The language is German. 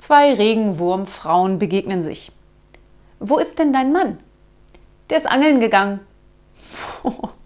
Zwei Regenwurmfrauen begegnen sich. »Wo ist denn dein Mann?« »Der ist angeln gegangen.«